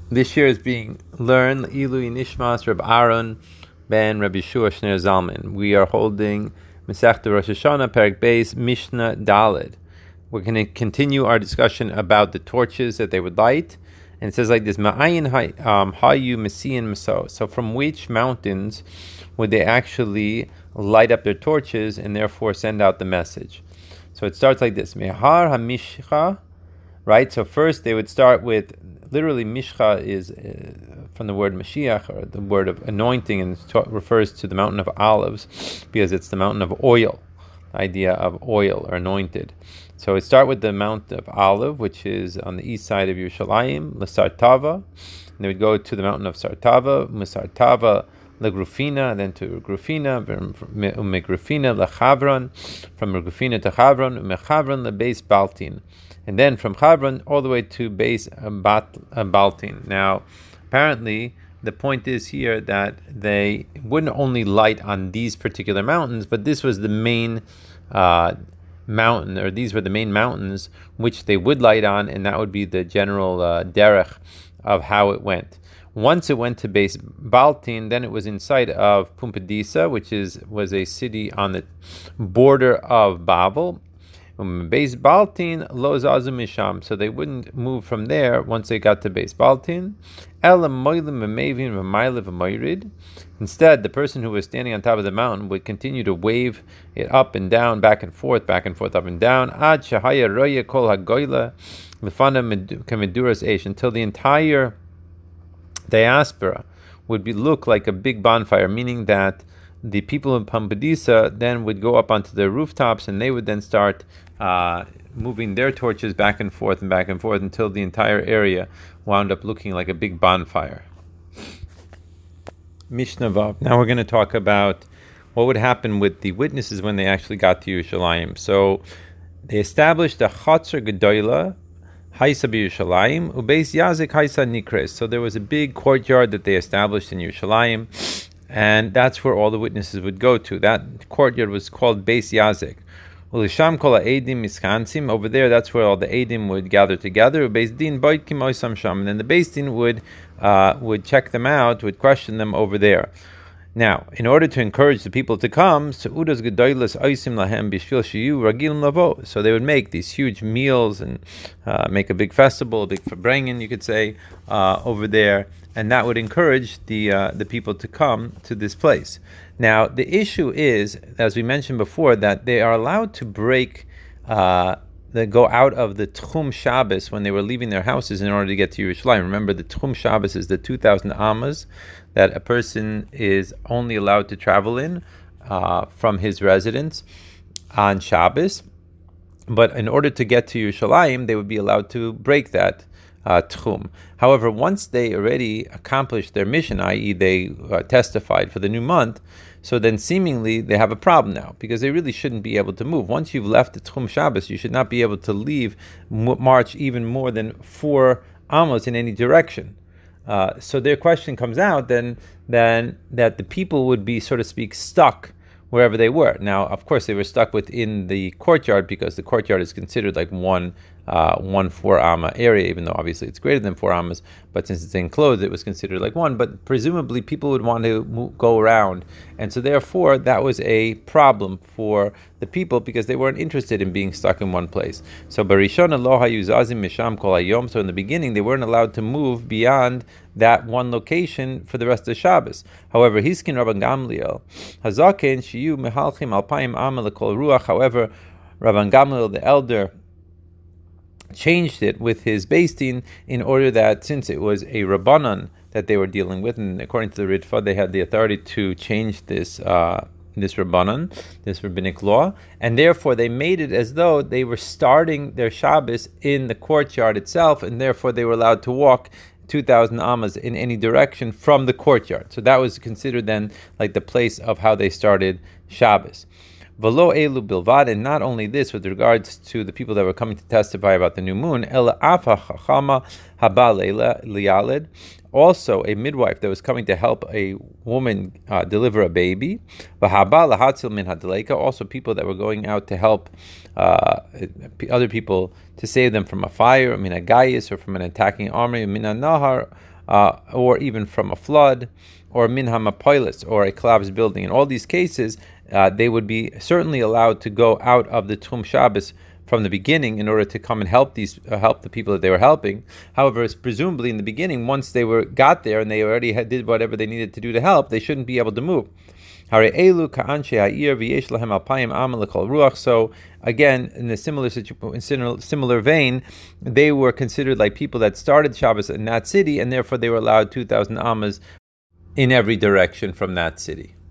This year is being learned Ilui Nishmas Reb Aaron ben Rabbi Shua Shner Zalman. We are holding Masechta Rosh Hashanah Perek Beis Mishnah Daled. We're going to continue our discussion about the torches that they would light, and it says like this: Ma'ayin hayu mesiyin maso. So from which mountains would they actually light up their torches and therefore send out the message? So it starts like this: Mehar hamishcha. Right. So first they would start with, literally mishcha is from the word Mashiach, or the word of anointing, and refers to the mountain of olives because it's the mountain of oil, the idea of oil or anointed. So it start with the Mount of Olive, which is on the east side of Yerushalayim, L'Sartava, and they would go to the mountain of Sartava, M'Sartava, LeGrufina, then to Grufina, Umegrufina, LeChavron, from Grufina to Chavron, Umechavron, LeBeis Baltin, and then from Chavron all the way to Beis Baltin. Now, apparently, the point is here that they wouldn't only light on these particular mountains, but this was the main mountain, or these were the main mountains which they would light on, and that would be the general derech of how it went. Once it went to Beis Baltin, then it was inside of Pumbedisa, which was a city on the border of Babel. Beis Baltin lo zazu misham, so they wouldn't move from there once they got to Beis Baltin. Instead, the person who was standing on top of the mountain would continue to wave it up and down, back and forth, up and down, ad shahaya roya kol hagoyla lefana kamiduras eish, until the entire diaspora would look like a big bonfire, meaning that the people of Pumbedisa then would go up onto their rooftops, and they would then start moving their torches back and forth until the entire area wound up looking like a big bonfire. Mishnah Vav. Now we're going to talk about what would happen with the witnesses when they actually got to Yerushalayim. So they established a Chatzar Gedoyla, Haisa b'Yerushalayim, Ubeis Yazik Haisa Nikres. So there was a big courtyard that they established in Yerushalayim, and that's where all the witnesses would go to. That courtyard was called Beis Yazik. Ulisham kol ha'edim miskansim. Over there, that's where all the edim would gather together. Beis din boitkim oisam sham, and then the Beis din would check them out, would question them over there. Now, in order to encourage the people to come, so they would make these huge meals and make a big festival, a big farbrengen, you could say, over there, and that would encourage the people to come to this place. Now, the issue is, as we mentioned before, that they are allowed to break, they go out of the Tchum Shabbos when they were leaving their houses in order to get to Yerushalayim. Remember, the Tchum Shabbos is the 2,000 amas that a person is only allowed to travel in from his residence on Shabbos. But in order to get to Yerushalayim, they would be allowed to break that Tchum. However, once they already accomplished their mission, i.e. they testified for the new month, so then seemingly they have a problem now, because they really shouldn't be able to move. Once you've left the Tchum Shabbos, you should not be able to leave, march even more than 4 amos in any direction. So their question comes out then that the people would be, so to speak, stuck wherever they were. Now, of course, they were stuck within the courtyard, because the courtyard is considered like one 4 amma area, even though obviously it's greater than 4 ammas, but since it's enclosed, it was considered like one. But presumably people would want to go around, and so therefore that was a problem for the people, because they weren't interested in being stuck in one place. So barishona lo hayuzazim misham kol hayom. So in the beginning, they weren't allowed to move beyond that one location for the rest of the Shabbos. However, Hiskin Rabban Gamliel hazaken shiyu mehalchim alpayim amma lekol ruach. However, Rabban Gamliel, the elder, changed it with his Beis Din in order that, since it was a Rabbanan that they were dealing with, and according to the Ritva, they had the authority to change this Rabbanan, this rabbinic law, and therefore they made it as though they were starting their Shabbos in the courtyard itself, and therefore they were allowed to walk 2,000 amas in any direction from the courtyard. So that was considered then like the place of how they started Shabbos. V'lo elu bilvad, and not only this with regards to the people that were coming to testify about the new moon, ela afa chachama haba liyalid, also a midwife that was coming to help a woman deliver a baby, v'haba lahatzil min hadleika, also people that were going out to help other people to save them from a fire, min a gayis, or from an attacking army, min a nahar, or even from a flood, or min hamapolis, or a collapsed building. In all these cases, they would be certainly allowed to go out of the Tchum Shabbos from the beginning in order to come and help the people that they were helping. However, it's presumably in the beginning, once they got there and they already did whatever they needed to do to help, they shouldn't be able to move. So again, in a similar vein, they were considered like people that started Shabbos in that city, and therefore they were allowed 2,000 amas in every direction from that city.